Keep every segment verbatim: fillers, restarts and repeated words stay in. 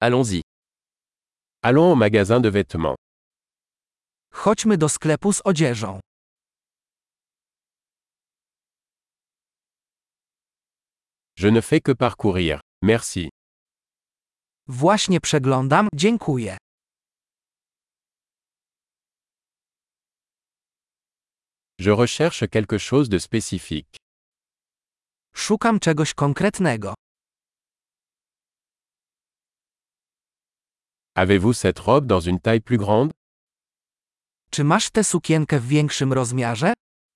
Allons-y. Allons au magasin de vêtements. Chodźmy do sklepu z odzieżą. Je ne fais que parcourir. Merci. Właśnie przeglądam, dziękuję. Je recherche quelque chose de spécifique. Szukam czegoś konkretnego. Avez-vous cette robe dans une taille plus grande? Czy masz tę sukienkę w większym rozmiarze?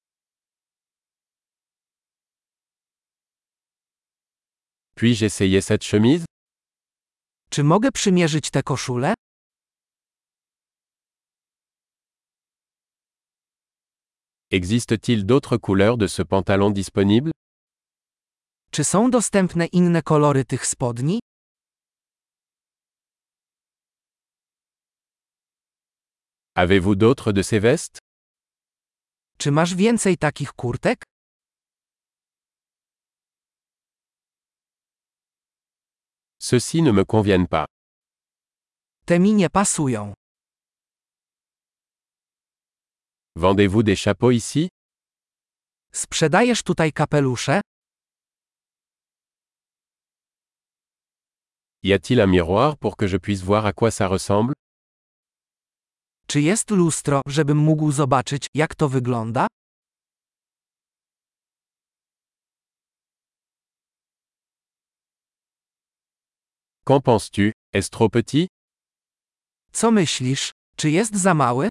Puis-je essayer cette chemise? Czy mogę przymierzyć tę koszulę? Existe-t-il d'autres couleurs de ce pantalon disponible? Czy są dostępne inne kolory tych spodni? Avez-vous d'autres de ces vestes? Czy masz więcej takich kurtek? Ceux-ci ne me conviennent pas. Te mi nie pasują. Vendez-vous des chapeaux ici? Sprzedajesz tutaj kapelusze? Y a-t-il un miroir pour que je puisse voir à quoi ça ressemble? Czy jest lustro, żebym mógł zobaczyć, jak to wygląda? Qu'en penses-tu? Est-ce trop petit? Co myślisz? Czy jest za mały?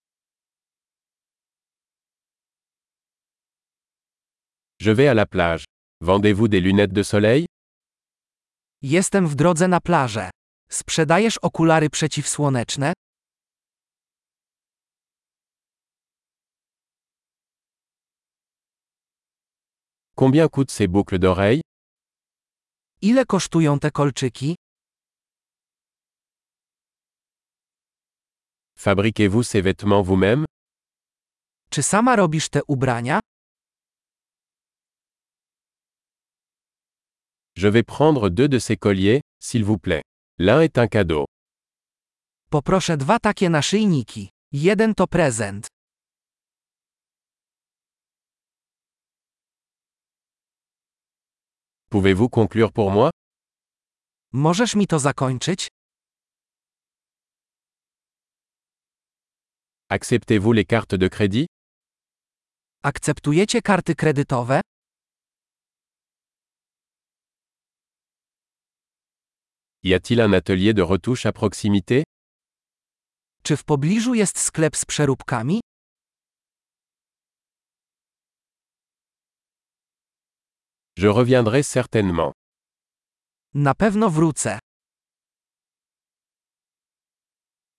Je vais à la plage. Vendez-vous des lunettes de soleil? Jestem w drodze na plażę. Sprzedajesz okulary przeciwsłoneczne? Combien coûtent ces boucles d'oreilles? Ile kosztują te kolczyki? Fabriquez-vous ces vêtements vous-même? Czy sama robisz te ubrania? Je vais prendre deux de ces colliers, s'il vous plaît. L'un est un cadeau. Poproszę dwa takie naszyjniki. Jeden to prezent. Pouvez-vous conclure pour moi? Możesz mi to zakończyć? Acceptez-vous les cartes de crédit? Akceptujecie karty kredytowe? Y a-t-il un atelier de retouche à proximité? Czy w pobliżu jest sklep z przeróbkami? Je reviendrai certainement. Na pewno wrócę.